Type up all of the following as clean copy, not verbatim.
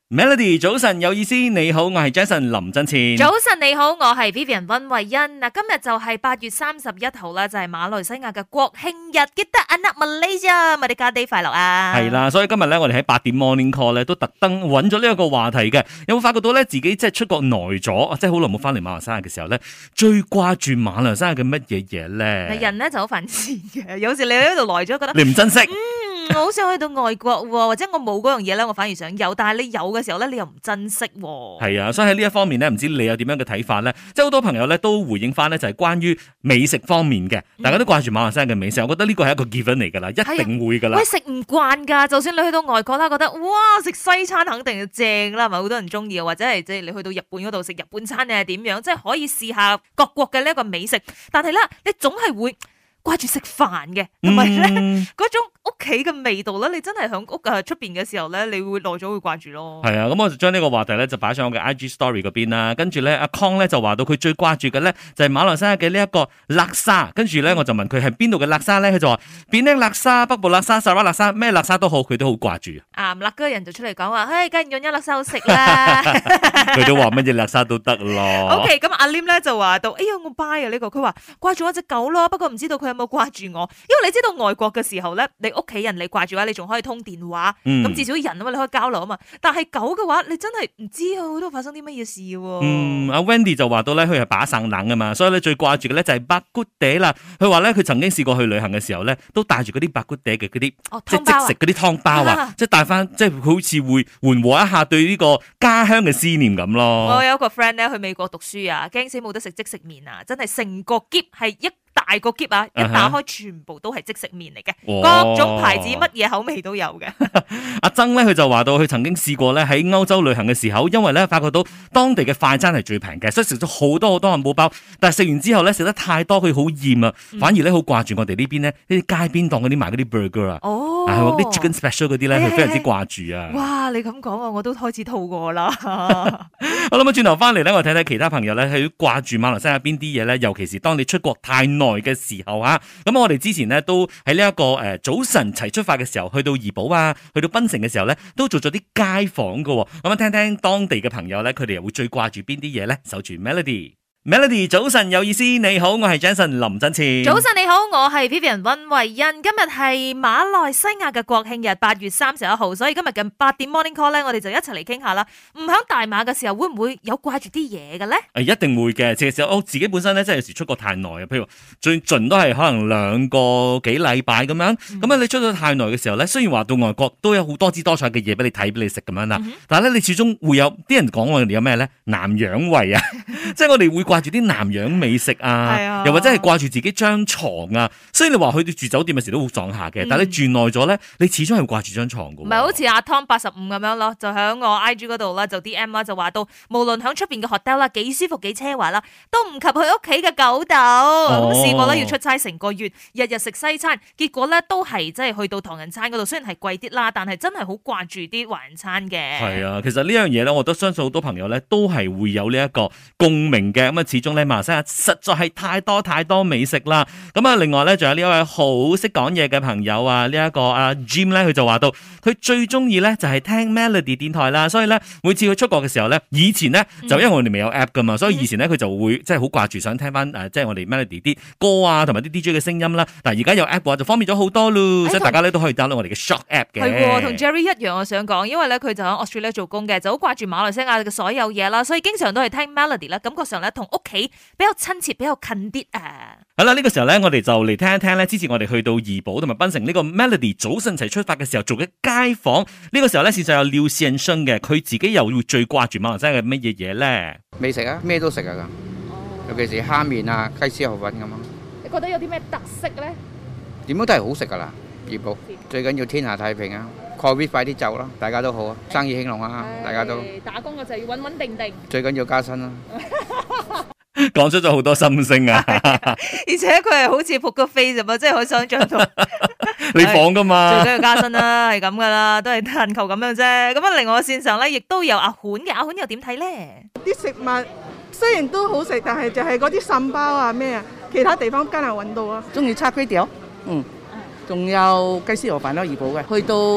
Melody 早晨有意思，你好，我係 Jason 林振前。 早晨你好，我係 Vivian 溫慧欣。嗱，今日就係8月31號啦，就係馬來西亞嘅國慶日，記得 Anak Malaysia，Merdeka Day 快樂啊！ 係啦，所以今日咧，我哋喺8點 Morning Call 咧，都特登揾咗呢一個話題嘅。有冇發覺到咧，自己即係出國耐咗，即係好耐冇翻嚟馬來西亞嘅時候咧，最掛住馬來西亞嘅乜嘢嘢咧？ 人咧就好犯賤嘅，有時你喺度耐咗，覺得你唔珍惜。 我好想去到外國，或者我冇嗰樣嘢咧，我反而想有，但係你有嘅時候咧，你又唔珍惜。 係啊，所以喺呢一方面咧，唔知你有點樣嘅睇法咧？即係好多朋友咧都回應翻咧，就係關於美食方面嘅，大家都掛住馬來西亞嘅美食，我覺得呢個係一個 given 嚟噶啦，一定會噶啦。 喂，食唔慣噶，就算你去到外國啦，覺得哇食西餐肯定正啦，係咪好多人中意啊？或者係即係你去到日本嗰度食日本餐，你係點樣？即係可以試下各國嘅呢一個美食，但係咧，你總係會掛住食飯嘅，同埋咧嗰種屋企嘅味道咧，你真係響屋出邊嘅時候咧，你會耐咗會掛住咯。 係啊，咁我就將呢個話題咧就擺上我嘅 IG Story 嗰邊啦。跟住咧，阿康咧就話到佢最掛住嘅咧就係馬來西亞嘅呢一個叻沙。跟住咧，我就問佢係邊度嘅叻沙咧，佢就話邊啲叻沙、北部叻沙、沙拉叻沙，咩叻沙都好，佢都好掛住。 唔辣嘅人就出嚟講話，梗係潤一叻沙好食啦。 佢都話乜嘢叻沙都得咯。 OK，咁阿 Lim 咧就話到，哎呀我 buy 啊呢個，佢話掛住我隻狗咯，不過唔知道佢有冇掛住我，因為你知道外國嘅時候咧，你屋企人你掛住嘅話，你仲可以通電話，咁至少人啊嘛，你可以交流啊嘛。但係狗嘅話，你真係唔知啊，都發生啲乜嘢事喎。 阿 Wendy 就話到咧，佢係把省冷啊嘛，所以咧最掛住嘅咧就係白骨嗲啦。佢話咧佢曾經試過去旅行嘅時候咧，都帶住嗰啲白骨嗲嘅嗰啲即係即食嗰啲湯包啊，即係帶翻，即係好似會緩和一下對呢個家鄉嘅思念咁咯。 我有一個 friend 咧去美國讀書啊，驚死冇得食即食麵啊，真係成個篋係一大個篋啊！一打開全部都係即食麵嚟嘅，各種牌子乜嘢口味都有嘅。 阿曾咧佢就話到，佢曾經試過咧喺歐洲旅行嘅時候，因為咧發覺到當地嘅快餐係最平嘅，所以食咗好多漢堡包。但係食完之後咧食得太多，佢好厭啊，反而咧好掛住我哋呢邊呢啲街邊檔嗰啲賣嗰啲 burger 啊，係啲 chicken special 嗰啲咧，佢非常之掛住啊。 哇！你咁講啊，我都開始肚餓啦。 好啦，咁轉頭翻嚟咧，我睇睇其他朋友咧係掛住馬來西亞邊啲嘢咧，尤其是當你出國太耐嘅時候啊，咁我哋之前呢，都喺呢一個早晨齊出發嘅時候，去到怡保啊，去到檳城嘅時候咧，都做咗啲街訪噶，咁聽聽當地嘅朋友咧，佢哋又會最掛住邊啲嘢咧？守住 Melody。Melody 早晨有意思，你好，我係 Jason 林振前。 早晨你好，我係 Vivian 溫慧欣。今日係馬來西亞嘅國慶日，8月31號，所以今日嘅8點 Morning Call 咧，我哋就一齊嚟傾下啦。唔響大馬嘅時候，會唔會有掛住啲嘢嘅咧？ 一定會嘅。其實我自己本身咧，真係有時出國太耐啊，譬如最盡都係可能2個幾禮拜咁樣。咁你出咗太耐嘅時候咧，雖然話到外國都有好多姿多彩嘅嘢俾你睇，俾你食咁樣啦，但係咧你始終會有啲人講我哋有咩咧？南洋胃啊，即係我哋會掛住啲南洋美食啊，又或者係掛住自己張床啊。所以你話去到住酒店嘅時都好爽下嘅，但係你住耐咗咧，你始終係掛住張床噶。 唔係好似阿 Tom 85咁樣咯，就喺我 IG 嗰度啦，就 DM 啦，就話到無論喺出邊嘅 hotel 啦，幾舒服幾奢華啦，都唔及佢屋企嘅狗竇。咁試過咧要出差成個月，日日食西餐，結果咧都係即係去到唐人餐嗰度，雖然係貴啲啦，但係真係好掛住啲華人餐嘅。係啊，其實呢樣嘢咧，我都相信好多朋友咧都係會有呢一個共鳴嘅。咁啊，始終咧馬來西亞實在係太多美食啦。咁啊，另外咧仲有呢一位好識講嘢嘅朋友啊，呢一個阿 Jim 咧，佢就話到佢最中意咧就係聽 Melody 電台啦。所以咧每次佢出國嘅時候咧，以前咧就因為我哋未有 app 噶嘛，所以以前咧佢就會即係好掛住想聽翻即係我哋 Melody 啲歌啊，同埋啲 DJ 嘅聲音啦。但係而家有 app 嘅話就方便咗好多咯，所以大家咧都可以 download 我哋嘅 Shock app 嘅。 係同 Jerry 一樣，我想講，因為咧佢就喺 Australia 做工嘅，就好掛住馬來西亞嘅所有嘢啦，所以經常都係聽 Melody 啦，感覺上咧同屋企比較親切，比較近啲啊。 好啦，呢個時候咧，我哋就嚟聽一聽咧，之前我哋去到怡保同埋檳城呢個 Melody 早晨齊出發嘅時候做嘅街訪。呢個時候咧，線上有廖善生嘅，佢自己又要最掛住馬來西亞嘅乜嘢嘢咧？ 美食啊，咩都食啊，尤其是蝦麵啊、雞絲河粉咁啊。 你覺得有啲咩特色咧？ 點樣都係好食噶啦，怡保最緊要天下太平啊！Covid 快啲走啦，大家都好啊，生意興隆啊，大家都打工嘅就要穩穩定定， 最緊要加薪啦。 講出咗好多心聲啊！ 而且佢係好似撲個飛咁啊，即係可以想象到你放噶嘛， 最緊要加薪啦，係咁噶啦，都係但求咁樣啫。咁啊，另外線上咧，亦都有阿款嘅，阿款又點睇咧？ 啲食物雖然都好食，但係就係嗰啲腎包啊咩啊，其他地方艱難揾到啊。 中意叉龜條，仲有雞絲河粉咯，怡保嘅。去到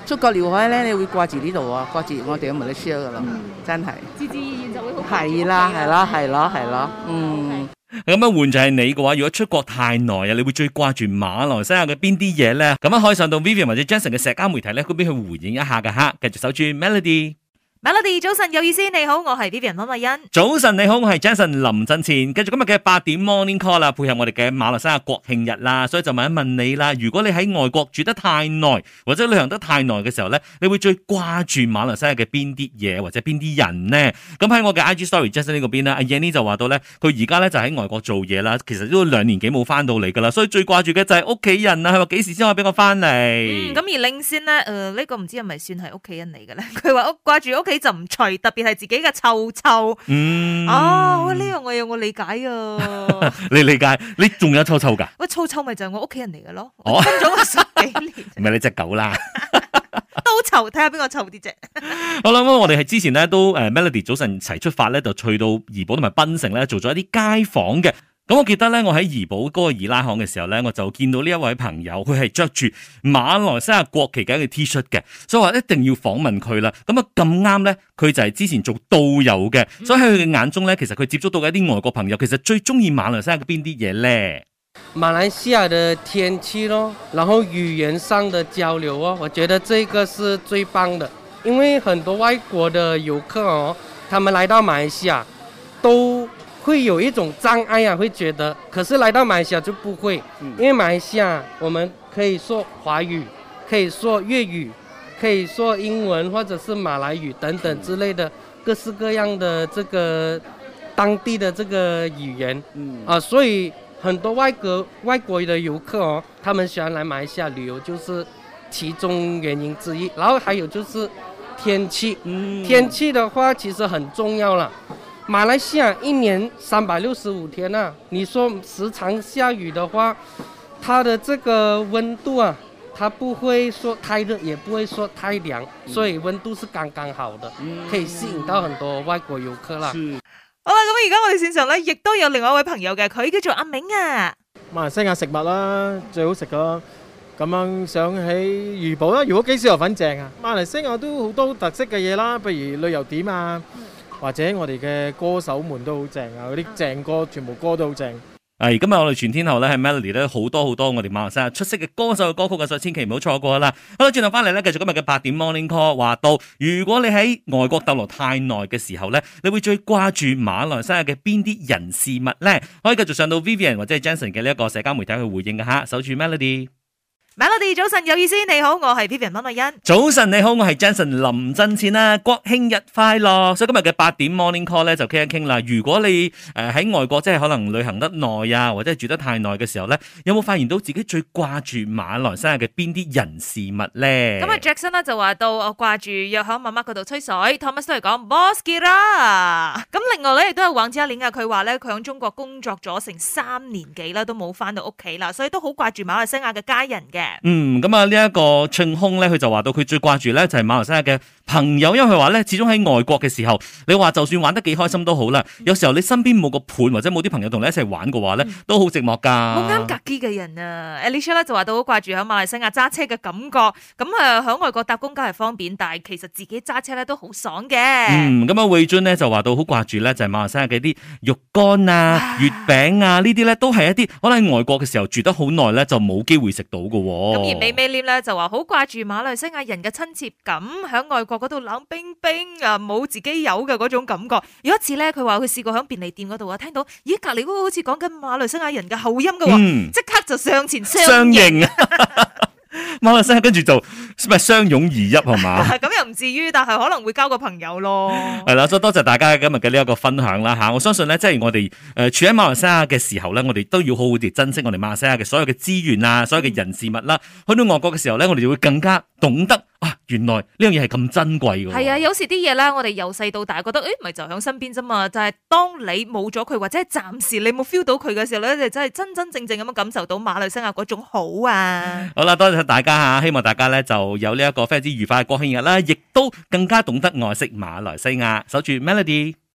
出國聊開咧，你會掛住呢度啊，掛住我哋嘅馬來西亞噶啦，真係。 自然而然就會好。 係啦，係啦，係咯，係咯，嗯。 咁樣換就係你嘅話，如果出國太耐啊，你會最掛住馬來西亞嘅邊啲嘢咧？咁樣可以上到 Vivian 或者 Jason 嘅社交媒體咧嗰邊去回應一下㗎吓，繼續守住 Melody。Melody 早晨有意思，你好，我係 Vivian 溫慧欣。 早晨你好，我係 Jason 林振前。繼續今日嘅8點 Morning Call 啦，配合我哋嘅馬來西亞國慶日啦，所以就問一問你啦，如果你喺外國住得太耐或者旅行得太耐嘅時候咧，你會最掛住馬來西亞嘅邊啲嘢或者邊啲人呢？咁喺我嘅 IG Story Jason 呢個邊咧，阿 Yanny 就話到咧，佢而家咧就喺外國做嘢啦，其實都2年幾冇翻到嚟噶啦，所以最掛住嘅就係屋企人啊，佢話幾時先可以俾我翻嚟？ 咁而領先咧，呢個唔知係咪算係屋企人嚟嘅咧？佢話掛住屋企就唔除，特別係自己嘅臭臭。呢樣我有我理解啊。 你理解？你仲有臭臭噶？ 喂，臭臭咪就係我屋企人嚟嘅咯。我分咗我10幾年。 唔係你隻狗啦。 都臭，睇下邊個臭啲啫。 好啦，咁我哋係之前咧都Melody 早晨齊出發咧，就去到怡保同埋檳城咧做咗一啲街訪嘅。咁我記得咧，我喺怡保嗰個二拉巷嘅時候咧，我就見到呢一位朋友，佢係着住馬來西亞國旗嘅一個 T 恤嘅，所以話一定要訪問佢啦。咁啊咁啱咧，佢就係之前做導遊嘅，所以喺佢嘅眼中咧，其實佢接觸到嘅一啲外國朋友，其實最中意馬來西亞嘅邊啲嘢咧？ 馬來西亞的天氣咯，然後語言上的交流哦，我覺得這個是最棒的，因為很多外國的遊客哦，他們來到馬來西亞都會有一種障礙啊，會覺得，可是來到馬來西亞就不會，因為馬來西亞我們可以說華語，可以說粵語，可以說英文或者是馬來語等等之類的各式各樣的這個當地的這個語言，所以很多外國的遊客哦，他們喜歡來馬來西亞旅遊，就是其中原因之一。然後還有就是天氣，天氣的話其實很重要啦。馬來西亞一年365天啊，你說時常下雨的話，它的這個溫度啊，它不會說太熱，也不會說太涼，所以溫度是剛剛好的，可以吸引到很多外國遊客啦。 好啦，咁而家我哋線上咧，亦都有另外一位朋友嘅，佢叫做阿明啊。 馬來西亞食物啦，最好食噶。咁樣想起怡保啦，如果幾時河粉正啊？馬來西亞都好多特色嘅嘢啦，譬如旅遊點啊，或者我哋嘅歌手們都好正啊，嗰啲正歌全部歌都好正。 今日我哋全天候咧喺 Melody 咧好多我哋馬來西亞出色嘅歌手嘅歌曲嘅，所以千祈唔好錯過啦。好啦，轉頭翻嚟咧，繼續今日嘅8點 Morning Call， 話到如果你喺外國逗留太耐嘅時候咧，你會最掛住馬來西亞嘅邊啲人事物咧？可以繼續上到 Vivian 或者係 Jason 嘅呢一個社交媒體去回應嘅吓，守住 Melody。Melody 早晨有意思，你好，我係 Vivian 溫慧欣。 早晨你好，我係 Jason 林振前啦。國慶日快樂！所以今日嘅8點 Morning Call 咧就傾一傾啦。如果你喺外國即係可能旅行得耐啊，或者係住得太耐嘅時候咧，有冇發現到自己最掛住馬來西亞嘅邊啲人事物咧？ 咁啊 Jackson 咧就話到我掛住約響媽媽嗰度吹水 ，Thomas 都係講 Boss Kira。咁另外咧亦都有黃子玲啊，佢話咧佢喺中國工作咗成3年幾啦，都冇翻到屋企啦，所以都好掛住馬來西亞嘅家人嘅。 咁啊呢一個慶空咧，佢就話到佢最掛住咧就係馬來西亞嘅朋友，因為佢話咧始終喺外國嘅時候，你話就算玩得幾開心都好啦，有時候你身邊冇個伴或者冇啲朋友同你一齊玩嘅話咧，都好寂寞噶。 好啱格機嘅人啊 ，Alicia 咧就話到好掛住喺馬來西亞揸車嘅感覺，咁啊喺外國搭公交係方便，但係其實自己揸車咧都好爽嘅。 咁啊慧尊咧就話到好掛住咧就係馬來西亞嘅啲肉乾啊、月餅啊呢啲咧都係一啲可能喺外國嘅時候住得好耐咧就冇機會食到嘅。 美美廉咧就話好掛住馬來西亞人嘅親切感，喺外國嗰度冷冰冰啊，冇自己有嘅嗰種感覺。有一次咧，佢話佢試過喺便利店嗰度啊，聽到咦隔籬嗰個好似講緊馬來西亞人嘅口音嘅，即刻就上前相認啊！ 馬來西亞跟住就咪相擁而泣係嘛？ 咁又唔至於，但係可能會交個朋友咯。 係啦，所以多謝大家今日嘅呢一個分享啦吓。我相信咧，即係我哋處喺馬來西亞嘅時候咧，我哋都要好好地珍惜我哋馬來西亞嘅所有嘅資源啊，所有嘅人事物啦。去到外國嘅時候咧，我哋就會更加懂得啊，原來呢樣嘢係咁珍貴嘅。 係啊，有時啲嘢咧，我哋由細到大覺得咪就喺身邊啫嘛。就係當你冇咗佢，或者係暫時你冇 feel 到佢嘅時候咧，你真係真真正正咁樣感受到馬來西亞嗰種好啊。 好啦，多謝大家吓，希望大家咧就有呢一個非常之愉快嘅國慶日啦，亦都更加懂得愛惜馬來西亞，守住 Melody。